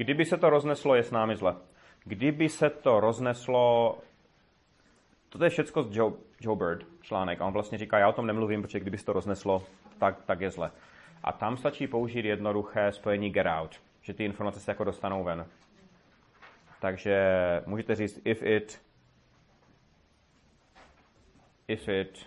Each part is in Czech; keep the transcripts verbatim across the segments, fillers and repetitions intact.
Kdyby se to rozneslo, je s námi zle. Kdyby se to rozneslo, to je všecko z Joe, Joe Bird článek a on vlastně říká, já o tom nemluvím, protože kdyby se to rozneslo, tak, tak je zle. A tam stačí použít jednoduché spojení get out, že ty informace se jako dostanou ven. Takže můžete říct if it if it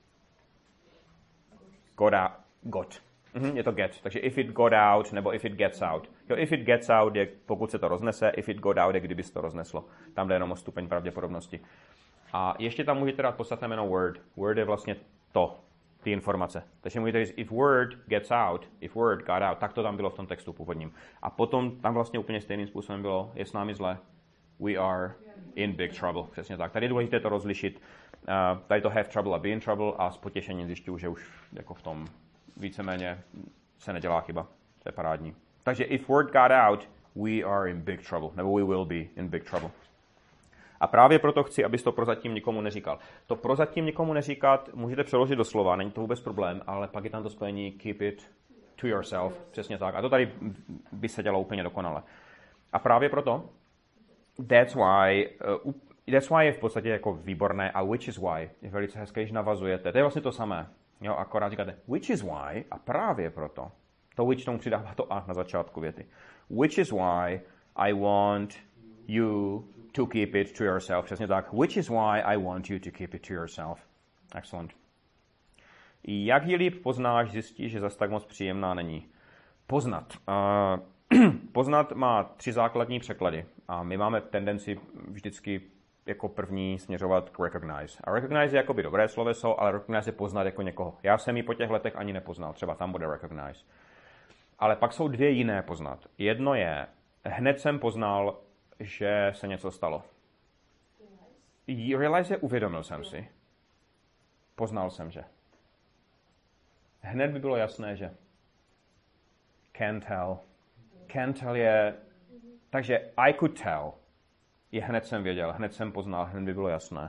got out, got. Mhm, je to get. Takže if it got out nebo if it gets out. Jo, if it gets out je pokud se to roznese, if it got out je kdyby se to rozneslo. Tam jde jenom o stupeň pravděpodobnosti. A ještě tam můžete dát podstatné jméno word. Word je vlastně to, ty informace. Takže můžete říct if word gets out, if word got out, tak to tam bylo v tom textu původním. A potom tam vlastně úplně stejným způsobem bylo, je s námi zle, we are in big trouble. Přesně tak. Tady je důležité to rozlišit. Uh, tady to have trouble a be in trouble a s potěšením zjišťuju, že už jako v tom víceméně se nedělá chyba. To je parádní. Takže if word got out, we are in big trouble. Nebo we will be in big trouble. A právě proto chci, abys to prozatím nikomu neříkal. To prozatím nikomu neříkat můžete přeložit do slova, není to vůbec problém, ale pak je tam to spojení keep it to yourself. Přesně tak. A to tady by se dělalo úplně dokonale. A právě proto that's why, uh, that's why je v podstatě jako výborné a which is why je velice hezké, když navazujete. To je vlastně to samé. Jo, akorát říkáte which is why a právě proto. To which tomu přidává to a na začátku věty. Which is why I want you to keep it to yourself. Přesně tak. Which is why I want you to keep it to yourself. Excellent. Jak ji líp poznáš, zjistíš, že zas tak moc příjemná není. Poznat. Uh, poznat má tři základní překlady. A my máme tendenci vždycky jako první směřovat k recognize. A recognize je jakoby dobré sloveso, ale recognize je poznat jako někoho. Já jsem ji po těch letech ani nepoznal. Třeba tam bude recognize. Ale pak jsou dvě jiné poznat. Jedno je, hned jsem poznal, že se něco stalo. Realize je, uvědomil jsem si. Poznal jsem, že. Hned by bylo jasné, že. Can tell. Can tell je... Takže I could tell. Je hned jsem věděl, hned jsem poznal, hned by bylo jasné.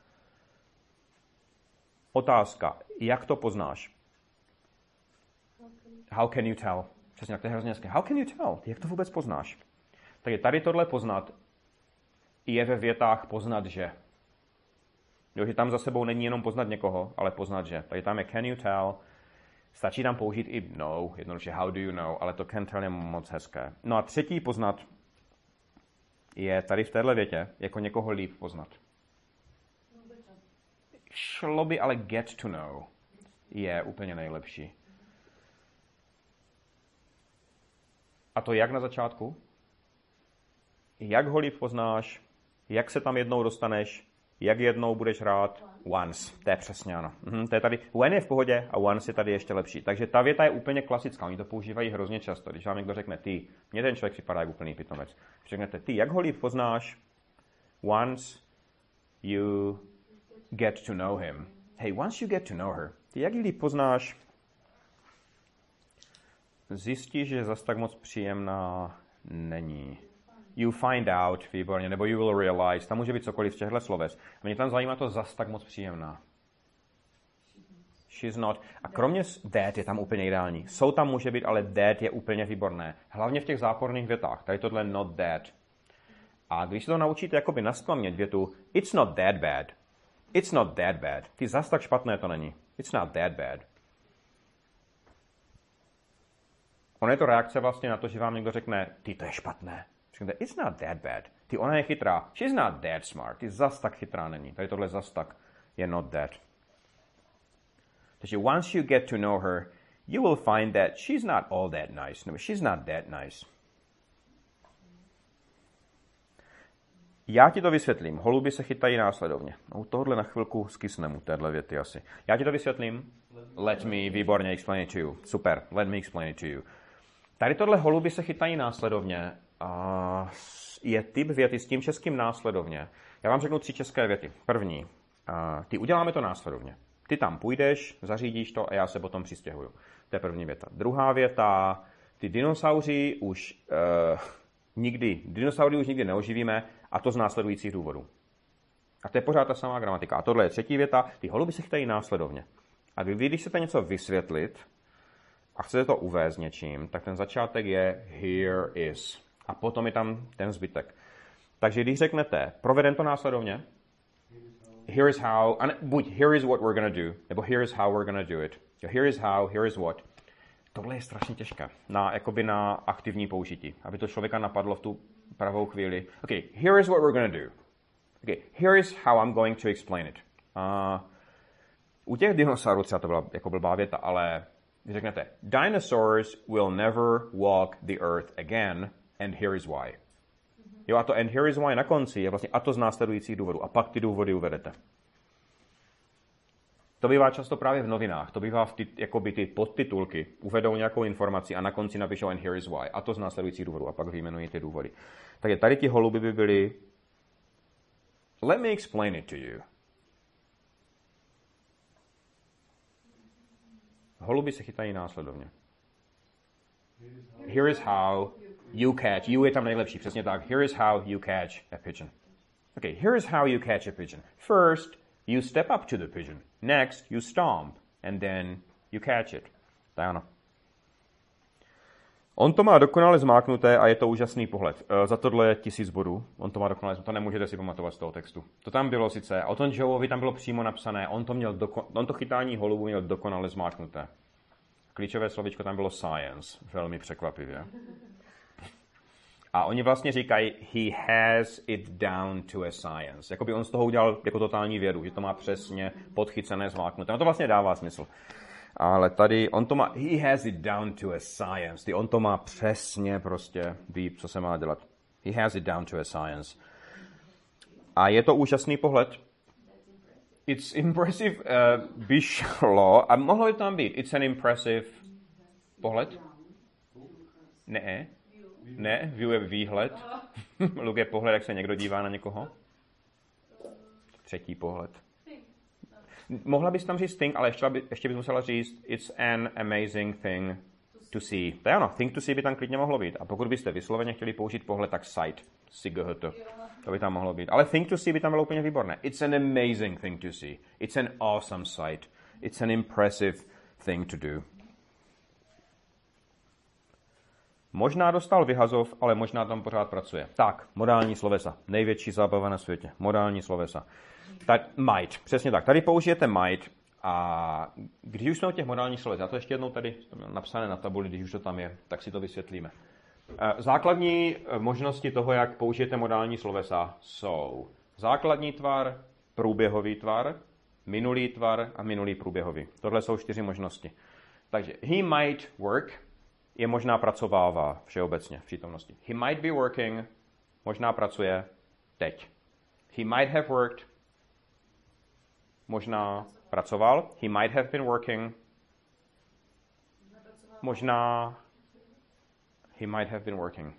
Otázka. Jak to poznáš? How can you tell? Přesně, jak to je hrozně hezké. How can you tell? Jak to vůbec poznáš? Takže tady tohle poznat je ve větách poznat, že. Jo, že tam za sebou není jenom poznat někoho, ale poznat, že. Takže tam je can you tell. Stačí tam použít i know, jednoduše how do you know, ale to can tell je moc hezké. No a třetí poznat je tady v téhle větě jako někoho líp poznat. Šlo by, ale get to know je úplně nejlepší. A to jak na začátku? Jak ho líp poznáš, jak se tam jednou dostaneš, jak jednou budeš rád, once. To je přesně ano. Mhm, to je tady, when je v pohodě a once je tady ještě lepší. Takže ta věta je úplně klasická, oni to používají hrozně často. Když vám někdo řekne ty, mně ten člověk připadá jako úplný pitomec. Když řeknete ty, jak ho líp poznáš, once you get to know him. Hey, once you get to know her. Ty, jak ji líp poznáš, zjistíš, že zas tak moc příjemná není. You find out, výborně, nebo you will realize, tam může být cokoliv z těchto sloves. Mě tam zajímá to zas tak moc příjemná. She's not. A kromě that je tam úplně ideální. Jsou tam může být, ale that je úplně výborné. Hlavně v těch záporných větách. Tady tohle not that. A když se to naučíte jakoby nasklamět větu it's not that bad. It's not that bad. Ty zas tak špatné to není. It's not that bad. Ono je to reakce vlastně na to, že vám někdo řekne ty to je špatné. It's not that bad. Ty, ona je chytrá. She's not that smart. Ty zas tak chytrá není. Tady tohle zas tak je not that. Takže once you get to know her, you will find that she's not all that nice. No, she's not that nice. Já ti to vysvětlím. Holuby se chytají následovně. No, tohle na chvilku skysnem u téhle věty asi. Já ti to vysvětlím. Let me, výborně, explain it to you. Super, let me explain it to you. Tady tohle holuby se chytají následovně. A je typ věty s tím českým následovně. Já vám řeknu tři české věty. První. A ty uděláme to následovně. Ty tam půjdeš, zařídíš to a já se potom přistěhuju. To je první věta. Druhá věta. Ty dinosauři už uh, nikdy, dinosaury už nikdy neoživíme a to z následujících důvodů. A to je pořád ta samá gramatika. A tohle je třetí věta. Ty holuby se chytají následovně. A vy, když chcete něco vysvětlit a chcete to uvést něčím, tak ten začátek je here is. A potom je tam ten zbytek. Takže když řeknete, provedem to následovně, here is how, a ne, buď here is what we're gonna do, nebo here is how we're gonna do it. Here is how, here is what. Tohle je strašně těžké na, jakoby na aktivní použití, aby to člověka napadlo v tu pravou chvíli. Okay, here is what we're gonna do. Okay, here is how I'm going to explain it. Uh, u těch dinosaurů třeba to byla jako blbá věta, ale když řeknete, dinosaurs will never walk the earth again, and here is why. Jo, a to and here is why na konci je vlastně a to z následujících důvodů. A pak ty důvody uvedete. To bývá často právě v novinách. To bývá v ty, jakoby ty podtitulky. Uvedou nějakou informaci a na konci napíšou and here is why. A to z následujících důvodů. A pak vyjmenují ty důvody. Takže tady ti holuby by byly let me explain it to you. Holuby se chytají následovně. Here is how you catch. You je tam nejlepší, přesně tak. Here is how you catch a pigeon. Okay, here is how you catch a pigeon. First, you step up to the pigeon. Next, you stomp. And then you catch it. Tak ano. On to má dokonale zmáknuté a je to úžasný pohled. E, za tohle je tisíc bodů. On to má dokonale, to nemůžete si pamatovat z toho textu. To tam bylo sice, o tom Joeovi tam bylo přímo napsané, on to, měl doko, on to chytání holubu měl dokonale zmáknuté. Klíčové slovíčko tam bylo science, velmi překvapivě. A oni vlastně říkají, he has it down to a science. Jakoby on z toho udělal jako totální vědu, že to má přesně podchycené, zmáknuté. No to vlastně dává smysl. Ale tady on to má, he has it down to a science. Ty on to má přesně prostě, ví, co se má dělat. He has it down to a science. A je to úžasný pohled. It's impressive, uh, by šlo, a mohlo by tam být, it's an impressive pohled? Ne. Ne, view je výhled. Look je pohled, jak se někdo dívá na někoho. Třetí pohled. Mohla bys tam říct thing, ale ještě, by, ještě bys musela říct it's an amazing thing to see. To je ano, thing to see by tam klidně mohlo být. A pokud byste vysloveně chtěli použít pohled, tak sight. Sight. To by tam mohlo být. Ale thing to see by tam bylo úplně výborné. It's an amazing thing to see. It's an awesome sight. It's an impressive thing to do. Možná dostal vyhazov, ale možná tam pořád pracuje. Tak, modální slovesa. Největší zábava na světě. Modální slovesa. Tak, might. Přesně tak. Tady použijete might a když už jsme o těch modálních slovech, já to ještě jednou tady napsané na tabuli, když už to tam je, tak si to vysvětlíme. Základní možnosti toho, jak použijete modální slovesa, jsou základní tvar, průběhový tvar, minulý tvar a minulý průběhový. Tohle jsou čtyři možnosti. Takže he might work je možná pracovává všeobecně v přítomnosti. He might be working, možná pracuje teď. He might have worked, možná pracoval. He might have been working, možná he might have been working.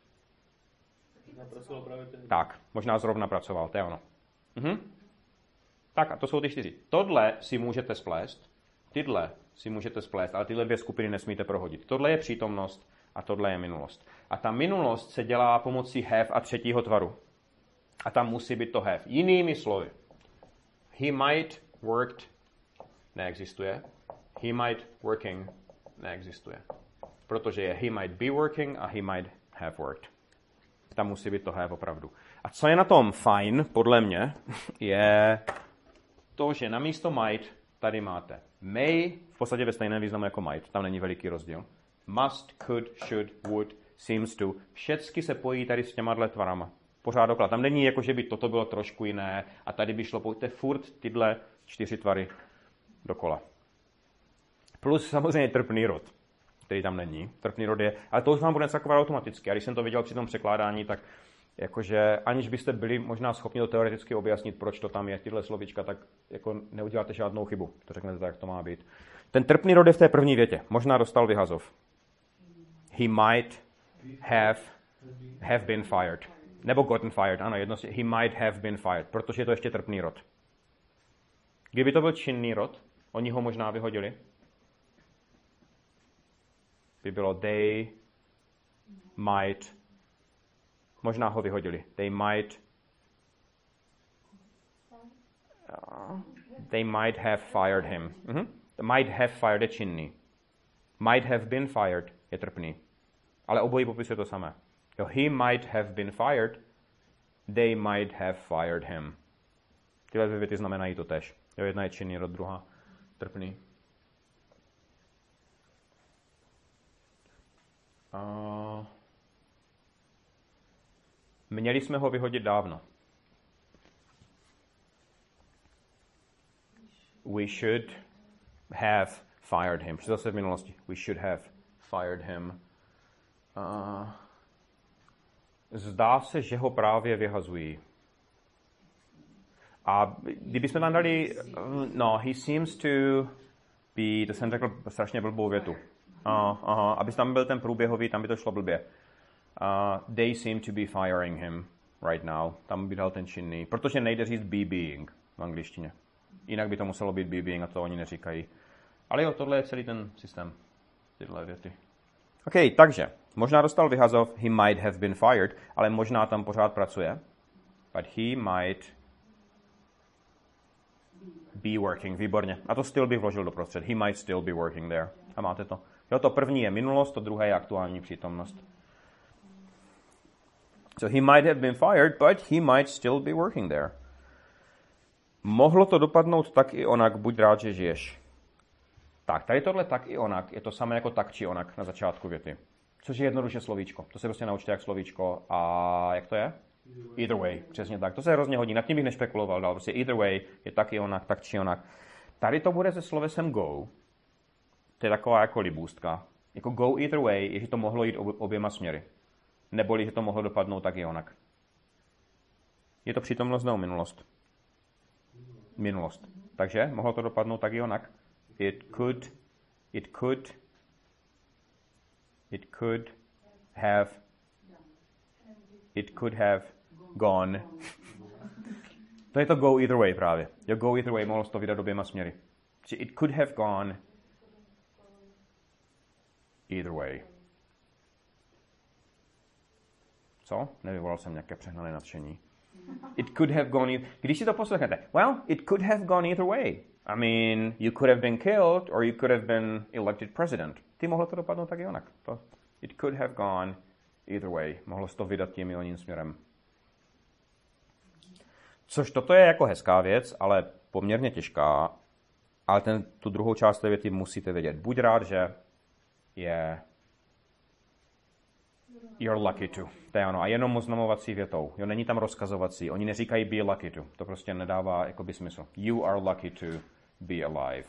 Tak, možná zrovna pracoval, to je ono. Mhm. Tak a to jsou ty čtyři. Tohle si můžete splést, tyhle si můžete splést, ale tyhle dvě skupiny nesmíte prohodit. Tohle je přítomnost a tohle je minulost. A ta minulost se dělá pomocí have a třetího tvaru. A tam musí být to have. Jinými slovy, he might worked neexistuje, he might working neexistuje. Protože je he might be working a he might have worked. Tam musí být to have opravdu. A co je na tom fajn, podle mě, je to, že na místo might tady máte may, v podstatě ve stejném významu jako might, tam není veliký rozdíl. Must, could, should, would, seems to. Všecky se pojí tady s těma tvarama. Pořád doklad. Tam není jako, že by toto bylo trošku jiné a tady by šlo, pojďte furt tyhle čtyři tvary dokola. Plus samozřejmě trpný rod, který tam není. Trpný rod je, ale to už vám bude zakovat automaticky. A když jsem to viděl při tom překládání, tak jakože aniž byste byli možná schopni to teoreticky objasnit, proč to tam je, tyhle slovíčka, tak jako neuděláte žádnou chybu. To řeknete tak, jak to má být. Ten trpný rod je v té první větě. Možná dostal vyhazov. He might have, have been fired. Nebo gotten fired, ano, jedno, he might have been fired, protože je to ještě trpný rod. Kdyby to byl činný rod, oni ho možná vyhodili. By bylo they might, možná ho vyhodili. They might, uh, they might have fired him. Uh-huh. Might have fired je činný. Might have been fired je trpný. Ale obojí popisuje to samé. Jo, he might have been fired, they might have fired him. Tyhle dvě věty znamenají to tež. Jo, jedna je činný, rod, druhá trpný. Uh, měli jsme ho vyhodit dávno. We should have fired him. Zase v minulosti. We should have fired him. Uh, zdá se, že ho právě vyhazují. A kdybychom tam dali, no, he seems to be, to jsem řekl strašně blbou větu. Uh, aha, aby tam byl ten průběhový, tam by to šlo blbě. Uh, they seem to be firing him right now. Tam by dal ten činný, protože nejde říct be being v angličtině. Jinak by to muselo být be being a to oni neříkají. Ale jo, tohle je celý ten systém. Tyhle věty. OK, takže, možná dostal vyhazov, he might have been fired, ale možná tam pořád pracuje. But he might be working, výborně. A to still bych vložil doprostřed. He might still be working there. A máte to. Jo, to první je minulost, to druhé je aktuální přítomnost. So he might have been fired, but he might still be working there. Mohlo to dopadnout tak i onak, buď rád, že žiješ. Tak, tady tohle tak i onak je to samé jako tak či onak na začátku věty. Což je jednoduše slovíčko. To se prostě naučte jak slovíčko. A jak to je? Either way, přesně tak. To se hrozně hodí. Nad tím bych nešpekuloval dál. Prostě either way je tak i onak, tak či onak. Tady to bude se slovesem go. To je taková jako libůstka. Jako go either way je, že to mohlo jít oběma směry. Neboli, že to mohlo dopadnout tak i onak. Je to přítomnost nebo minulost? Minulost. Takže mohlo to dopadnout tak i onak. It could, it could, it could have, it could have gone. To je to go either way právě. Jo, go either way mohlo to vydat oběma směry. It could have gone either way. Co? Nevyvolal jsem nějaké přehnané nadšení. It could have gone either... Když si to poslechnete, well, it could have gone either way. I mean, you could have been killed or you could have been elected president. Ty mohlo to dopadnout tak i onak. To, it could have gone either way. Mohlo se to vydat tím i oním směrem. Což toto je jako hezká věc, ale poměrně těžká. Ale ten, tu druhou část té věty musíte vědět. Buď rád, že je... You're lucky to. To je ano. A jenom oznamovací větou. Jo, není tam rozkazovací. Oni neříkají be lucky to. To prostě nedává jakoby smysl. You are lucky to be alive.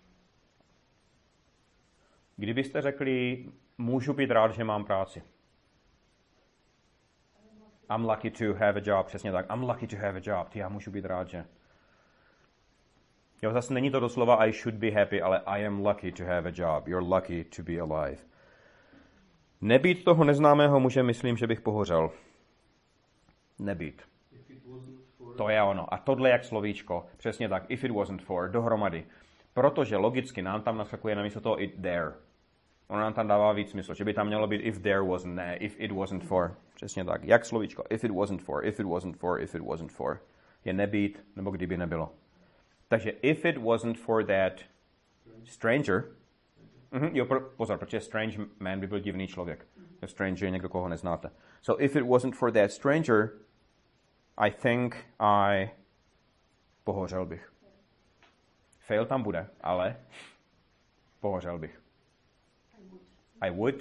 Kdybyste řekli, můžu být rád, že mám práci. I'm lucky to have a job. Přesně tak. I'm lucky to have a job. Ty, já můžu být rád, že... Jo, zase není to doslova I should be happy, ale I am lucky to have a job. You're lucky to be alive. Nebýt toho neznámého muže, myslím, že bych pohořel. Nebýt. To je ono. A tohle jak slovíčko. Přesně tak. If it wasn't for. Dohromady. Protože logicky nám tam naskakuje namísto toho it there. Ono nám tam dává víc smysl. Že by tam mělo být if there wasn't, ne, if it wasn't for. Přesně tak. Jak slovíčko. If it wasn't for, if it wasn't for, if it wasn't for. Je nebýt, nebo kdyby nebylo. Takže if it wasn't for that stranger. Mm-hmm, jo, pozor, protože strange man by byl divný člověk. Stranger je někdo, koho neznáte. So if it wasn't for that stranger, I think I pohořel bych. Fail tam bude, ale pohořel bych. I would.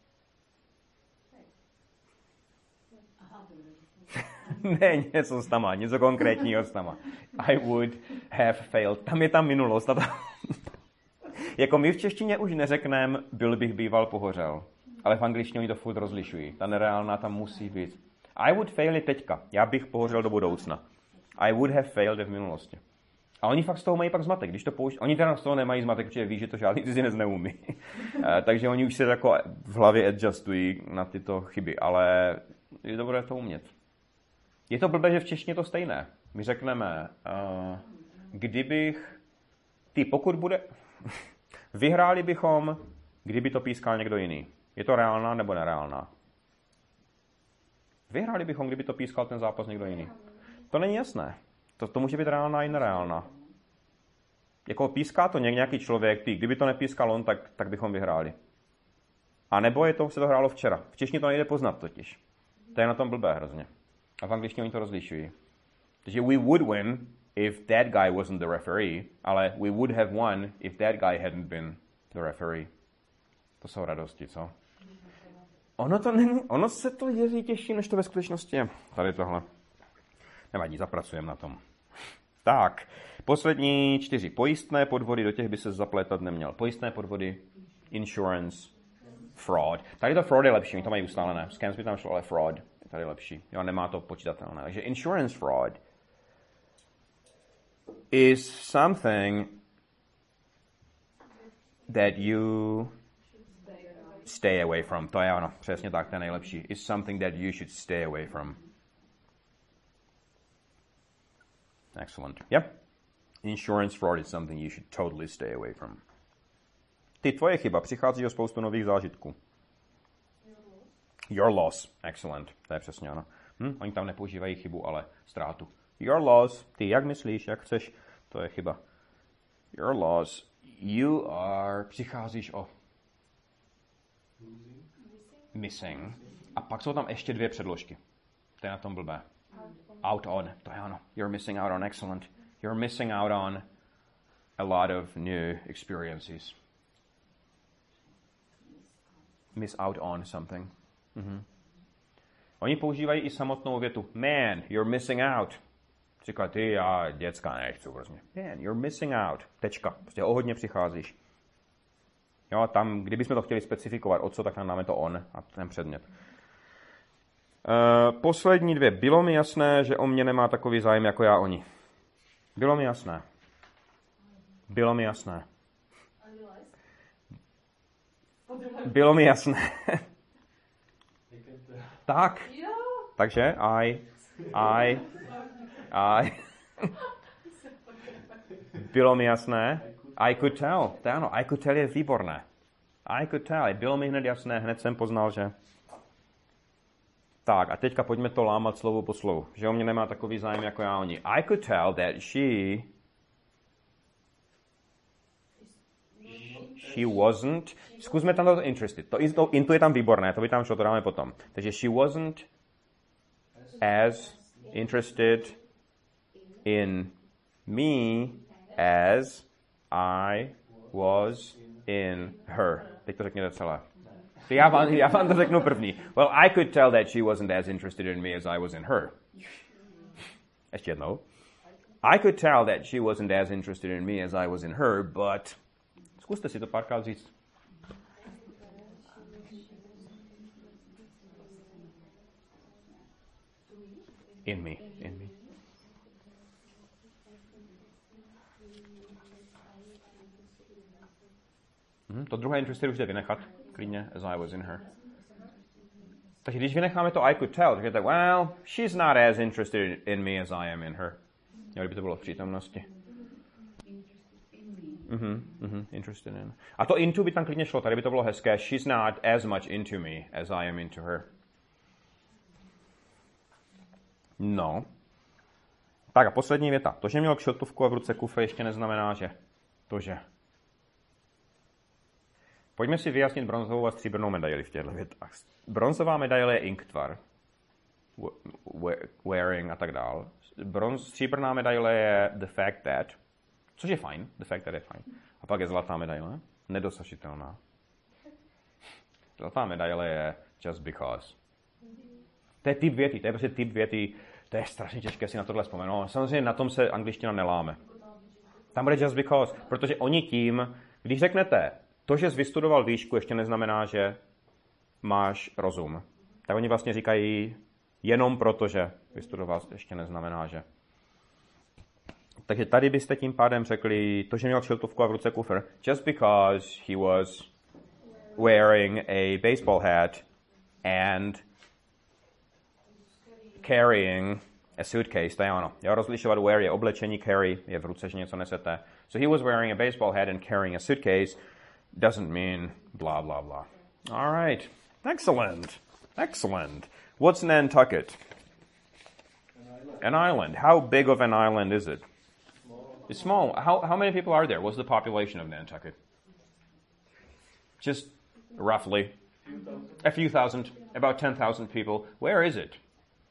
Ne, něco s tama, něco konkrétního s tama. I would have failed. Tam je tam minulost. A tam... Jako my v češtině už neřekneme, byl bych býval pohořel. Ale v angličtině oni to furt rozlišují. Ta nereálná tam musí být. I would fail je teďka. Já bych pohořel do budoucna. I would have failed je v minulosti. A oni fakt z toho mají pak zmatek. Když to pouští... Oni teda z toho nemají zmatek, protože ví, že to žádný cizinec neumí. Takže oni už se jako v hlavě adjustují na tyto chyby. Ale je dobré to umět. Je to blbé, že v češtině to stejné. My řekneme, uh, kdybych... Ty, pokud bude... Vyhráli bychom, kdyby to pískal někdo jiný. Je to reálná nebo nereálná? Vyhráli bychom, kdyby to pískal ten zápas někdo jiný. To není jasné. To, to může být reálná i nereálná. Jako píská to nějaký člověk, ty, kdyby to nepískal on, tak, tak bychom vyhráli. A nebo je to, se to hrálo včera. V češtině to nejde poznat totiž. To je na tom blbé hrozně. A v angličtině oni to rozlišují. Takže we would win if that guy wasn't the referee, ale we would have won if that guy hadn't been the referee. To jsou radosti, co? Ono to není, ono se to jeví těžší, než to ve skutečnosti je. Tady tohle. Nevadí, zapracujeme na tom. Tak, poslední čtyři. Pojistné podvody, do těch by se zaplétat neměl. Pojistné podvody, insurance, fraud. Tady to fraud je lepší, mi to mají ustálené. Scams by tam šlo, ale fraud je tady lepší. Jo, nemá to počítatelné. Takže insurance fraud is something that you stay away from. To je ono, přesně tak, to je nejlepší. Is something that you should stay away from. Excellent. Yep. Insurance fraud is something you should totally stay away from. Ty, tvoje chyba, přichází o spoustu nových zážitků. Your loss. Excellent. To je přesně ono. Hm? Oni tam nepoužívají chybu, ale ztrátu. Your loss. Ty, jak myslíš, jak chceš, to je chyba. Your loss. You are... Přicházíš o... Missing. A pak jsou tam ještě dvě předložky. To je na tom blbé. Out on. To je ono. You're missing out on. Excellent. You're missing out on a lot of new experiences. Miss out on something. Mm-hmm. Oni používají i samotnou větu. Man, you're missing out. Říká, ty, já děcka nechci prostě. Man, you're missing out. Tečka. Prostě o hodně přicházíš. Jo, tam, kdybychom to chtěli specifikovat, o co, tak tam dáme to on a ten předmět. Uh, poslední dvě. Bylo mi jasné, že o mě nemá takový zájem jako já o ní. Bylo mi jasné. Bylo mi jasné. Bylo mi jasné. Tak. Takže I, I, I. Bylo mi jasné. I could tell. To ano, I could tell je výborné. I could tell. Bylo mi hned jasné, hned jsem poznal, že... Tak, a teďka pojďme to lámat slovo po slovu. Že o mě nemá takový zájem jako já o ní. I could tell that she... She wasn't... Zkusme tam to interested. To, to into je tam výborné, to by tam šlo, to dáme potom. Takže she wasn't as interested in me as I was in her. Teď to řekněte celé. Já vám, já vám to řeknu první. Well, I could tell that she wasn't as interested in me as I was in her. Ještě jednou. I could tell that she wasn't as interested in me as I was in her, but... Zkuste si to párkrát říct. In me. In me. Hmm, to druhé interested už jde vynechat. Klidně, as I was in her. Takže když vynecháme to I could tell, tak je tak, well, she's not as interested in me as I am in her. Jo, kdyby to bylo v přítomnosti. Mhm, mhm, interested in. A to into by tam klidně šlo, tady by to bylo hezké. She's not as much into me as I am into her. No. Tak a poslední věta. To, že měl kšiltovku a v ruce kufr, ještě neznamená, že to, že. Pojďme si vyjasnit bronzovou a stříbrnou medaili v těchto větách. Bronzová medaile je inktvar, wearing a tak dál. Bronz, stříbrná medaile je the fact that, což je fajn, the fact that je fajn. A pak je zlatá medaile, nedosažitelná. Zlatá medaile je just because. To je typ věty, to je prostě typ věty, to je strašně těžké si na tohle vzpomenout. Samozřejmě na tom se angličtina neláme. Tam bude just because, protože oni tím, když řeknete, to, že jsi vystudoval výšku, ještě neznamená, že máš rozum. Tak oni vlastně říkají, jenom proto, že vystudoval, ještě neznamená, že. Takže tady byste tím pádem řekli, to, že měl kšiltovku a v ruce kufr, just because he was wearing a baseball hat and carrying a suitcase, to je ono. Jo, rozlišovat wear je oblečení, carry je v ruce, že něco nesete. So he was wearing a baseball hat and carrying a suitcase doesn't mean blah, blah, blah. All right. Excellent. Excellent. What's Nantucket? An island. An island. How big of an island is it? Small. It's small. How, how many people are there? What's the population of Nantucket? Just roughly. A few thousand, about ten thousand people. Where is it?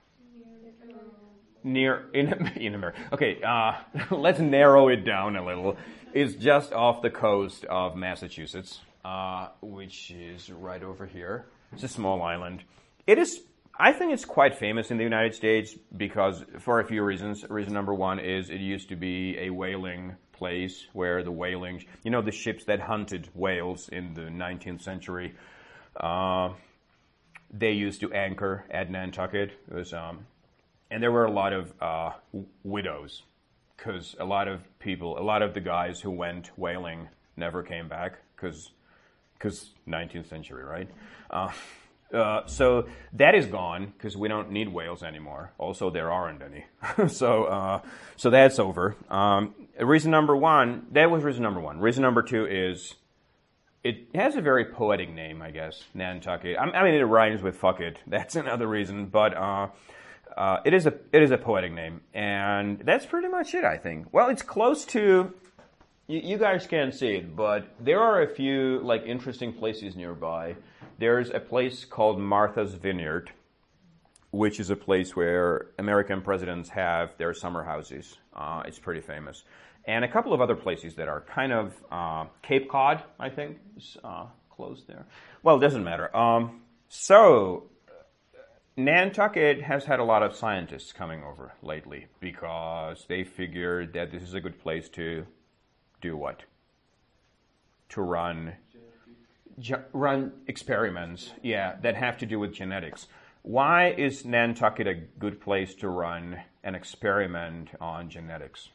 Near, in, in America. Okay, uh, let's narrow it down a little. It's just off the coast of Massachusetts, uh, which is right over here. It's a small island. It is, I think it's quite famous in the United States because, for a few reasons. Reason number one is it used to be a whaling place where the whaling, you know, the ships that hunted whales in the nineteenth century, uh, they used to anchor at Nantucket. It was, um, and there were a lot of uh, widows because a lot of people, a lot of the guys who went whaling never came back because because nineteenth century, right? Uh, uh, so that is gone because we don't need whales anymore. Also, there aren't any. so uh, so that's over. Um, reason number one, that was reason number one. Reason number two is it has a very poetic name, I guess, Nantucket. I, I mean, it rhymes with fuck it. That's another reason, but uh, uh, it is a it is a poetic name, and that's pretty much it, I think. Well, it's close to. You, you guys can't see it, but there are a few like interesting places nearby. There's a place called Martha's Vineyard, which is a place where American presidents have their summer houses. Uh, it's pretty famous. And a couple of other places that are kind of, uh, Cape Cod, I think, is uh, close there. Well, it doesn't matter. Um, so, Nantucket has had a lot of scientists coming over lately because they figured that this is a good place to do what? To run... run experiments, yeah, that have to do with genetics. Why is Nantucket a good place to run an experiment on genetics?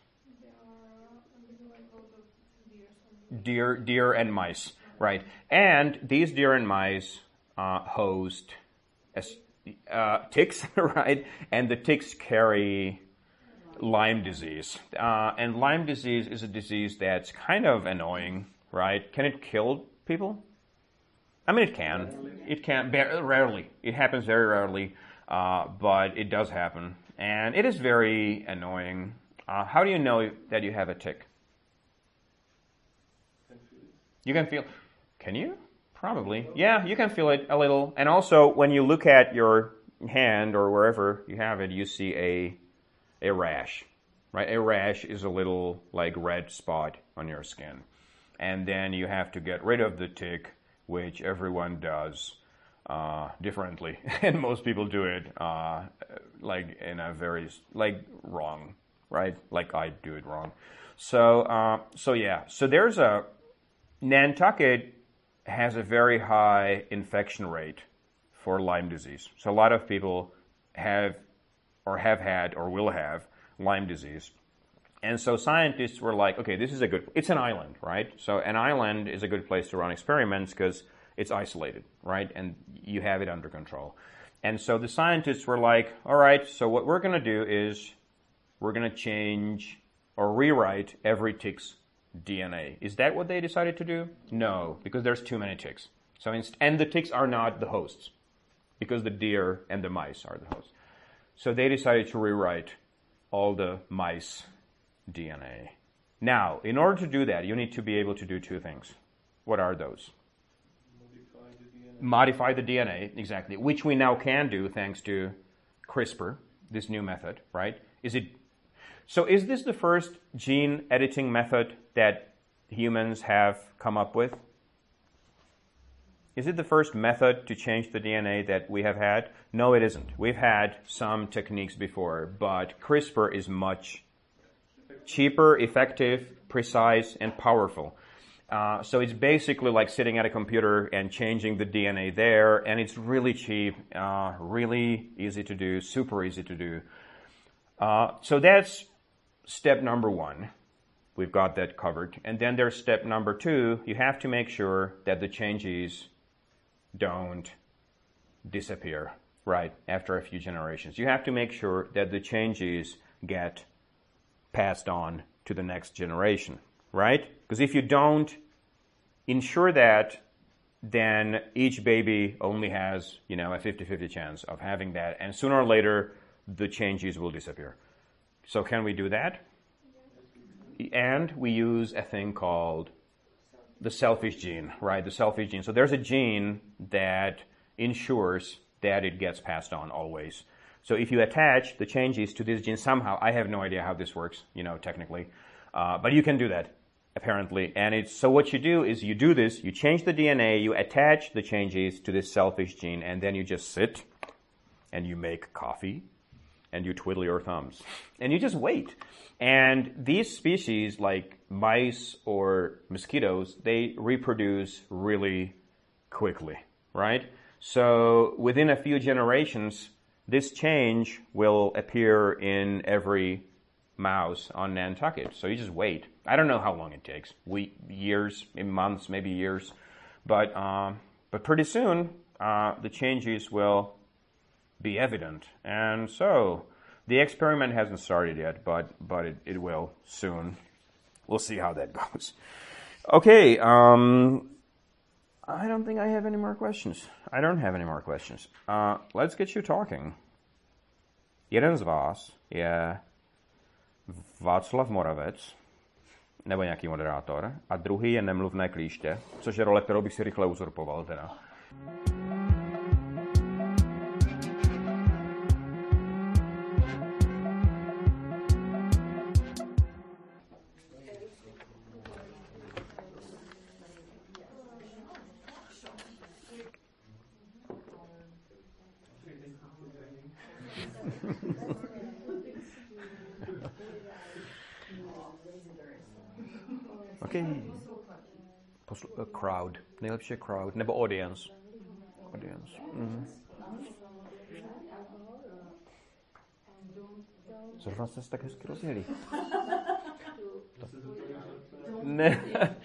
Deer, deer and mice, right? And these deer and mice uh, host uh, ticks, right? And the ticks carry Lyme disease. Uh, and Lyme disease is a disease that's kind of annoying, right? Can it kill people? I mean, it can. It can, rarely. It happens very rarely, uh, but it does happen. And it is very annoying. Uh, how do you know that you have a tick? You can feel, can you? Probably. Yeah, you can feel it a little. And also, when you look at your hand or wherever you have it, you see a a rash, right? A rash is a little, like, red spot on your skin. And then you have to get rid of the tick, which everyone does uh, differently, and most people do it uh, like in a very like wrong, right? Like I do it wrong. So uh, so yeah. So there's a Nantucket has a very high infection rate for Lyme disease. So a lot of people have or have had or will have Lyme disease. And so scientists were like, okay, this is a good, it's an island, right? So an island is a good place to run experiments because it's isolated, right? And you have it under control. And so the scientists were like, all right, so what we're going to do is we're going to change or rewrite every tick's D N A. Is that what they decided to do? No, because there's too many ticks. So inst- and the ticks are not the hosts because the deer and the mice are the hosts. So they decided to rewrite all the mice D N A. Now, in order to do that, you need to be able to do two things. What are those? Modify the D N A. Modify the D N A, exactly, which we now can do thanks to CRISPR, this new method, right? Is it? So is this the first gene editing method that humans have come up with? Is it the first method to change the D N A that we have had? No, it isn't. We've had some techniques before, but CRISPR is much cheaper, effective, precise, and powerful. Uh, so it's basically like sitting at a computer and changing the D N A there, and it's really cheap, uh, really easy to do, super easy to do. Uh, so that's step number one. We've got that covered. And then there's step number two. You have to make sure that the changes don't disappear, right, after a few generations. You have to make sure that the changes get passed on to the next generation, right? Because if you don't ensure that, then each baby only has, you know, a fifty-fifty chance of having that, and sooner or later, the changes will disappear. So can we do that? And we use a thing called the selfish gene, right? The selfish gene. So there's a gene that ensures that it gets passed on always. So if you attach the changes to this gene somehow, I have no idea how this works, you know, technically, uh, but you can do that apparently. And it's so what you do is you do this, you change the D N A, you attach the changes to this selfish gene, and then you just sit and you make coffee and you twiddle your thumbs and you just wait. And these species, like mice or mosquitoes, they reproduce really quickly, right? So within a few generations, this change will appear in every mouse on Nantucket. So you just wait. I don't know how long it takes. Week, years, maybe months, maybe years. But um, but pretty soon, uh, the changes will be evident. And so the experiment hasn't started yet, but but it, it will soon. We'll see how that goes. Okay. Um, I don't think I have any more questions. I don't have any more questions. Uh, let's get you talking. Jeden z vás je Václav Moravec, nebo nějaký moderátor, a druhý je Nemluvné klíště, což je role, kterou bych si rychle uzurpoval teda. Okay. Posl- uh, crowd. Nejlepší je crowd. Nebo audience. Audience. Mm-hmm. Zrovna jste se tak hezky rozjeli. Ne.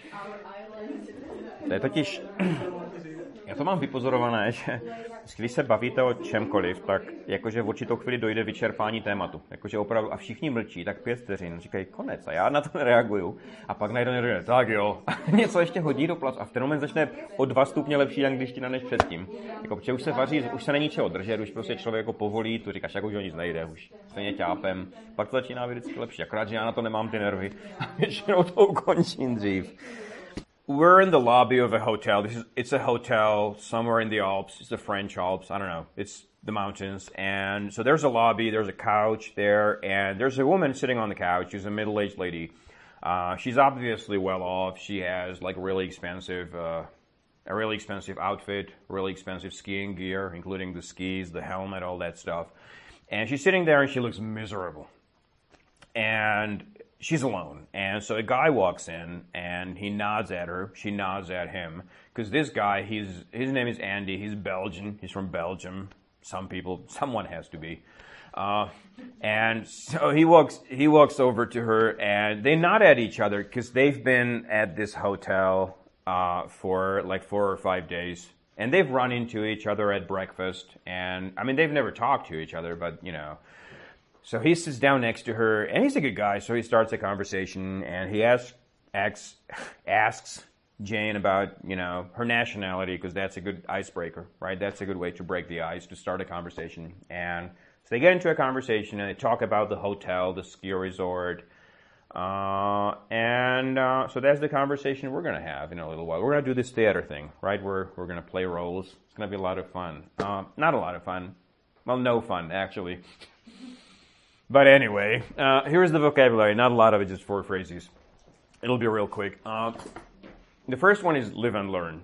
To je totiž... Já to mám vypozorované, že když se bavíte o čemkoliv, tak jakože v určitou chvíli dojde vyčerpání tématu. Jakože opravdu a všichni mlčí, tak pět vteřin, říkají konec a já na to nereaguju. A pak najednou někdo tak jo, něco ještě hodí do placu a v ten moment začne o dva stupně lepší angličtina než předtím. Jako, protože už se vaří, už se není čeho držet, už prostě člověk jako povolí, tu říkáš, jako už o nic nejde, už stejně ťápem. Pak to začíná být vždycky lepší, akorát, že já na to nemám ty nervy a většinou to ukončím dřív. We're in the lobby of a hotel. This is, it's a hotel somewhere in the Alps. It's the French Alps. I don't know. It's the mountains. And so there's a lobby. There's a couch there. And there's a woman sitting on the couch. She's a middle-aged lady. Uh, she's obviously well off. She has like really expensive, uh, a really expensive outfit, really expensive skiing gear, including the skis, the helmet, all that stuff. And she's sitting there and she looks miserable. And she's alone. And so a guy walks in and he nods at her. She nods at him. Because this guy, he's his name is Andy. He's Belgian. He's from Belgium. Some people, someone has to be. Uh, and so he walks he walks over to her and they nod at each other because they've been at this hotel uh, for like four or five days. And they've run into each other at breakfast. And, I mean, they've never talked to each other, but, you know. So he sits down next to her, and he's a good guy, so he starts a conversation, and he asks asks, asks Jane about, you know, her nationality, because that's a good icebreaker, right? That's a good way to break the ice, to start a conversation. And so they get into a conversation, and they talk about the hotel, the ski resort, uh, and uh, so that's the conversation we're going to have in a little while. We're going to do this theater thing, right? We're, we're going to play roles. It's going to be a lot of fun. Uh, not a lot of fun. Well, no fun, actually. But anyway, uh, here's the vocabulary. Not a lot of it, just four phrases. It'll be real quick. Uh, the first one is live and learn.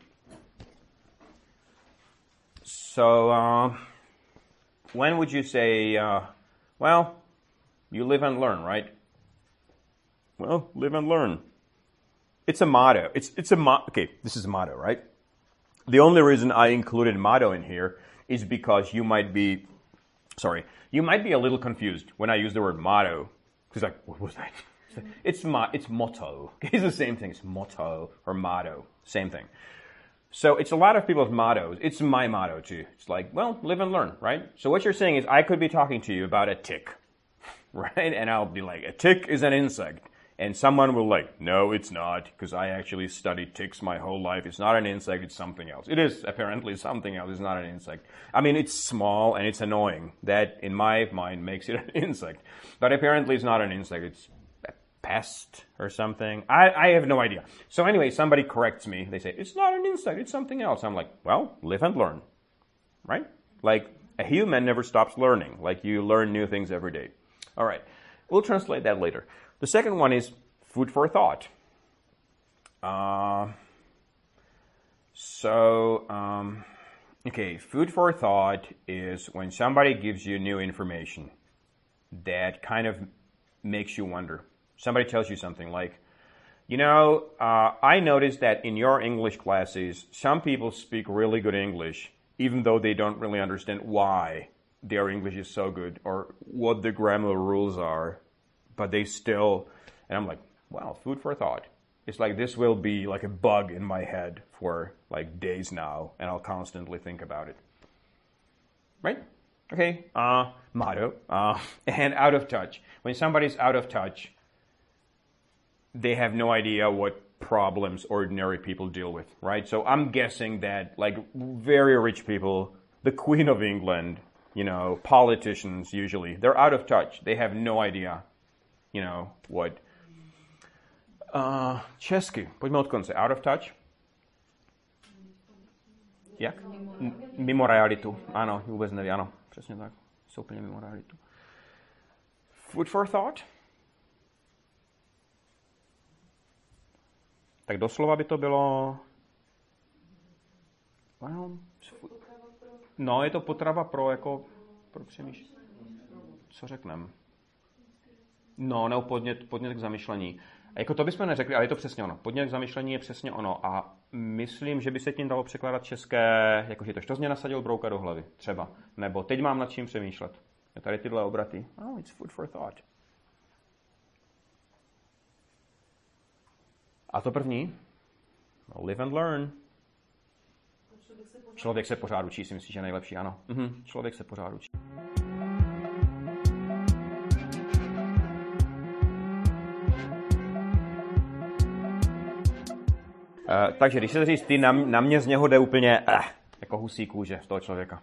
So, uh, when would you say, uh, well, you live and learn, right? Well, live and learn. It's a motto. It's it's a mo- okay. This is a motto, right? The only reason I included motto in here is because you might be, sorry. You might be a little confused when I use the word motto. Because like, what was that? It's mo- it's motto. It's the same thing. It's motto or motto. Same thing. So it's a lot of people's mottos. It's my motto too. It's like, well, live and learn, right? So what you're saying is I could be talking to you about a tick, right? And I'll be like, a tick is an insect. And someone will like, no, it's not, because I actually studied ticks my whole life. It's not an insect, it's something else. It is apparently something else, it's not an insect. I mean, it's small and it's annoying. That, in my mind, makes it an insect. But apparently it's not an insect, it's pest or something. I, I have no idea. So anyway, somebody corrects me. They say, it's not an insect, it's something else. I'm like, well, live and learn, right? Like, a human never stops learning. Like, you learn new things every day. All right, we'll translate that later. The second one is food for thought. Uh, so, um, okay, food for thought is when somebody gives you new information that kind of makes you wonder. Somebody tells you something like, you know, uh, I noticed that in your English classes, some people speak really good English, even though they don't really understand why their English is so good or what the grammar rules are, but they still, and I'm like, wow, food for thought. It's like this will be like a bug in my head for like days now, and I'll constantly think about it. Right? Okay, uh, motto, uh, and out of touch. When somebody's out of touch, they have no idea what problems ordinary people deal with, right? So I'm guessing that like very rich people, the Queen of England, you know, politicians usually, they're out of touch. They have no idea, you know, what. Uh, česky, pojďme od konce. Out of touch? Jak? Mimo realitu. Ano, vůbec neví, ano. Přesně tak. Jsou úplně mimo realitu. Food for thought? Tak doslova by to bylo... Well, no, je to potrava pro, jako, pro přemýšlení. Co řeknem? No, nebo podnět, podnět k zamyšlení. A jako to bychom neřekli, ale je to přesně ono. Podnět k zamyšlení je přesně ono. A myslím, že by se tím dalo překládat české, jakože to, što jsi mě nasadil brouka do hlavy, třeba. Nebo teď mám nad čím přemýšlet. Je tady tyhle obraty. Oh, it's food for thought. A to první? Live and learn. Člověk se pořád učí, si myslíš, že je nejlepší, ano. Mhm, člověk se pořád učí. Uh, takže když se říct, ty na, na mě z něho jde úplně uh, jako husí kůže z toho člověka.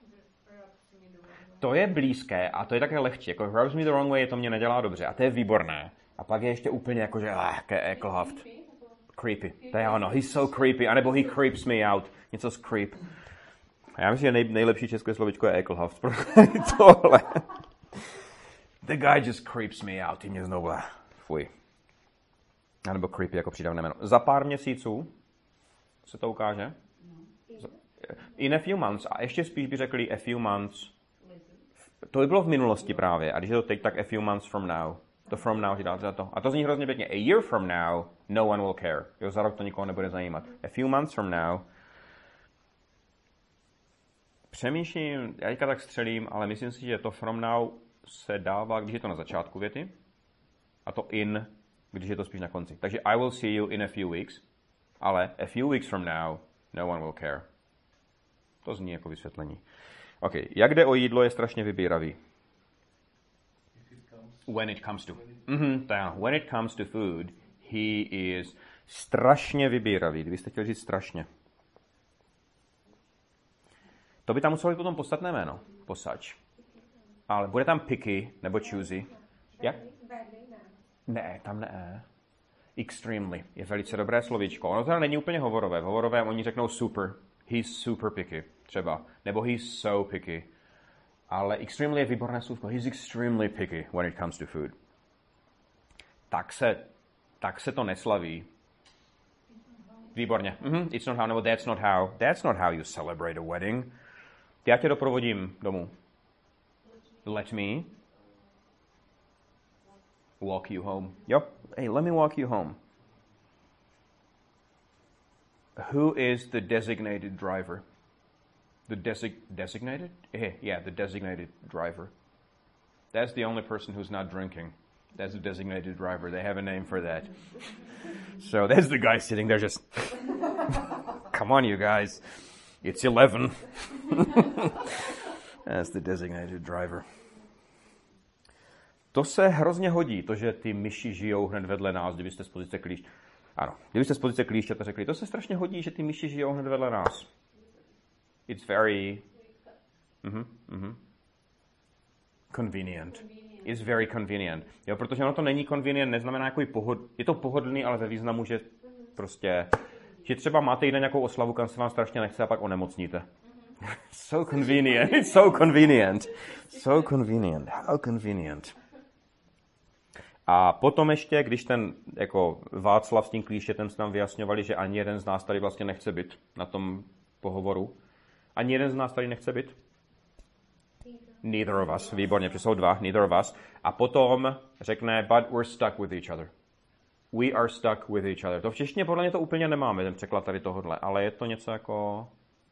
To je blízké a to je také lehčí. Jako rubs me the wrong way, to mě nedělá dobře a to je výborné. A pak je ještě úplně jako, že uh, ekelhaft. Creepy. To je ono, he's so creepy. A nebo he creeps me out. Něco z creep. A já myslím, že nej, nejlepší české slovičko je ekelhaft. Tohle. The guy just creeps me out. Ty mě znovu. Fuj. A nebo creepy jako přidavné jméno. Za pár měsíců se to ukáže. In a few months. A ještě spíš by řekli a few months. To by bylo v minulosti právě. A když je to teď, tak a few months from now. To from now, že dáte za to. A to zní hrozně pěkně. A year from now, no one will care. Jo, za rok to nikoho nebude zajímat. A few months from now. Přemýšlím, já teďka tak střelím, ale myslím si, že to from now se dává, když je to na začátku věty. A to in, když je to spíš na konci. Takže I will see you in a few weeks. Ale a few weeks from now, no one will care. To zní jako vysvětlení. OK, jak jde o jídlo, je strašně vybíravý. When it comes to. Mm-hmm, tak, when it comes to food, he is strašně vybíravý. Kdybyste chtěli říct strašně. To by tam muselo být potom podstatné jméno. Posač. Ale bude tam picky nebo choosy. Jak? Ne, tam ne. Extremely. Je velice dobré slovíčko. Ono teda není úplně hovorové. V hovorové oni řeknou super. He's super picky. Třeba. Nebo he's so picky. Ale extremely je výborné slůvko. He's extremely picky when it comes to food. Tak se, tak se to neslaví. Výborně. Mm-hmm. It's not how, nebo that's not how. That's not how you celebrate a wedding. Já tě doprovodím domů. Let me walk you home. Jo? Hey, let me walk you home. Who is the designated driver? The desig- designated? Yeah, the designated driver. That's the only person who's not drinking. That's the designated driver. They have a name for that. So that's the guy sitting there just... Come on, you guys. It's eleven. That's the designated driver. To se hrozně hodí, to, že ty myši žijou hned vedle nás, kdybyste z pozice klíště... Ano, kdybyste z pozice klíšťata řekli, to se strašně hodí, že ty myši žijou hned vedle nás. It's very... Mm-hmm, mm-hmm. Convenient. is very convenient. Jo, protože ono to není convenient, neznamená jako pohod... Je to pohodlný, ale ve významu, že prostě... Že třeba máte jít na nějakou oslavu, kam se vám strašně nechce a pak onemocníte. So convenient. It's so convenient. So convenient. How convenient. A potom ještě, když ten jako Václav s tím klíštětem se nám vyjasňovali, že ani jeden z nás tady vlastně nechce být na tom pohovoru. Ani jeden z nás tady nechce být? Neither of us. Výborně, protože jsou dva. Neither of us. A potom řekne, but we're stuck with each other. We are stuck with each other. To v češtině podle mě to úplně nemáme, ten překlad tady tohodle, ale je to něco jako...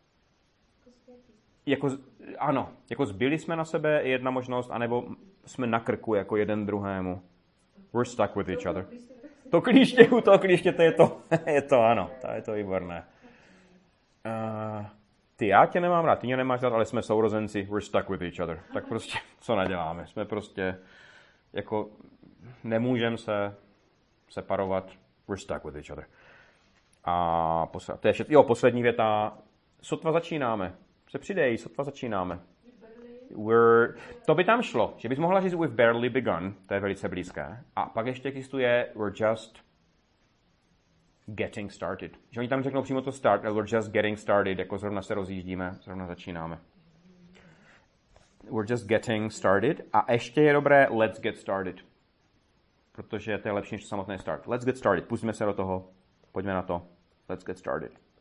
Jako, ano, jako zbyli jsme na sebe, je jedna možnost, anebo jsme na krku jako jeden druhému. We're stuck with each other. To klíště, u toho klíštěte je to, je to ano, to je to výborné. Uh, ty, já tě nemám rád, ty mě nemáš rád, ale jsme sourozenci, we're stuck with each other. Tak prostě, co naděláme? Jsme prostě, jako, nemůžeme se separovat, we're stuck with each other. A posl- to je vše, jo, poslední věta, sotva začínáme. Se přidej, sotva začínáme. We're, to by tam šlo, že bys mohla říct we've barely begun, to je velice blízké. A pak ještě existuje we're just getting started. Že oni tam řeknou přímo to start, ale we're just getting started, jako zrovna se rozjíždíme, zrovna začínáme. We're just getting started. A ještě je dobré let's get started. Protože to je lepší než samotný start. Let's get started. Pustíme se do toho. Pojďme na to. Let's get started.